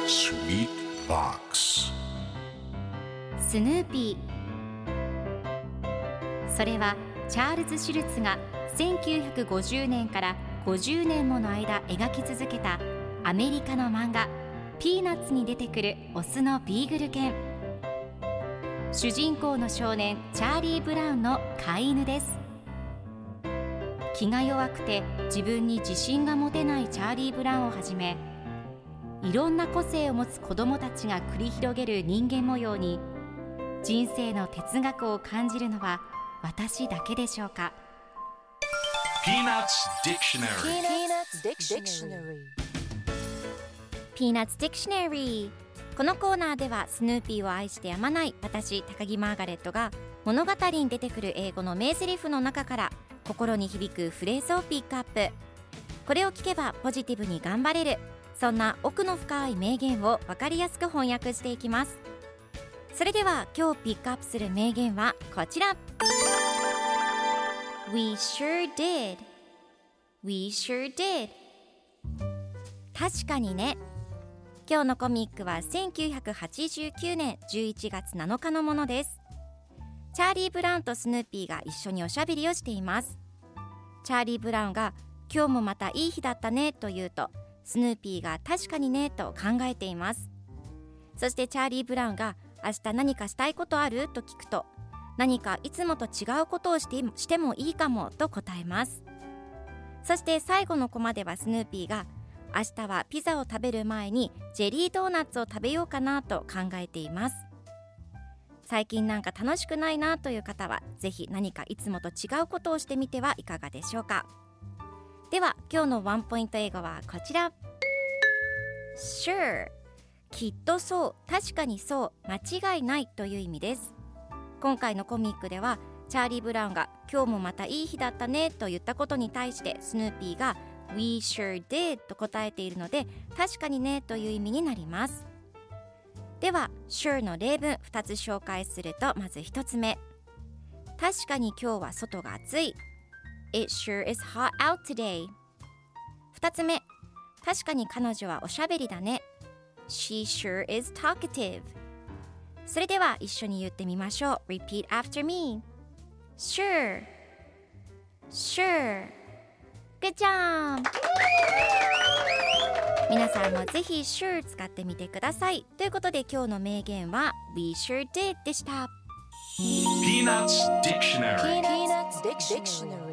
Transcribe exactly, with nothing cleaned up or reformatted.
Sweet Box スヌーピー。それはチャールズ・シュルツがせんきゅうひゃくごじゅうねんからごじゅうねんもの間描き続けたアメリカの漫画ピーナッツに出てくるオスのビーグル犬。主人公の少年チャーリー・ブラウンの飼い犬です。気が弱くて自分に自信が持てないチャーリー・ブラウンをはじめ、いろんな個性を持つ子どもたちが繰り広げる人間模様に人生の哲学を感じるのは私だけでしょうか。 Peanuts Dictionary Peanuts Dictionary。 このコーナーではスヌーピーを愛してやまない私高木マーガレットが物語に出てくる英語の名台詞の中から心に響くフレーズをピックアップ。これを聞けばポジティブに頑張れる、そんな奥の深い名言を分かりやすく翻訳していきます。それでは今日ピックアップする名言はこちら。 We sure did We sure did。 確かにね。今日のコミックはせんきゅうひゃくはちじゅうきゅうねんじゅういちがつなのかのものです。チャーリー・ブラウンとスヌーピーが一緒におしゃべりをしています。チャーリー・ブラウンが今日もまたいい日だったねと言うと、スヌーピーが確かにねと考えています。そしてチャーリー・ブラウンが明日何かしたいことあると聞くと、何かいつもと違うことをして、してもいいかもと答えます。そして最後のコマではスヌーピーが明日はピザを食べる前にジェリードーナツを食べようかなと考えています。最近なんか楽しくないなという方はぜひ何かいつもと違うことをしてみてはいかがでしょうか。では今日のワンポイント英語はこちら。 Sure、 きっとそう、確かにそう、間違いないという意味です。今回のコミックではチャーリー・ブラウンが今日もまたいい日だったねと言ったことに対してスヌーピーが We sure did と答えているので、確かにねという意味になります。では sure の例文ふたつ紹介すると、まずひとつめ、確かに今日は外が暑い。 It sure is hot out today。 ふたつめ、確かに彼女はおしゃべりだね。 She sure is talkative。 それでは一緒に言ってみましょう。 Repeat after me。 Sure Sure Good job。 皆さんもぜひ sure 使ってみてください。ということで今日の名言は We sure did でした。 Peanuts Dictionary Peanuts Dictionary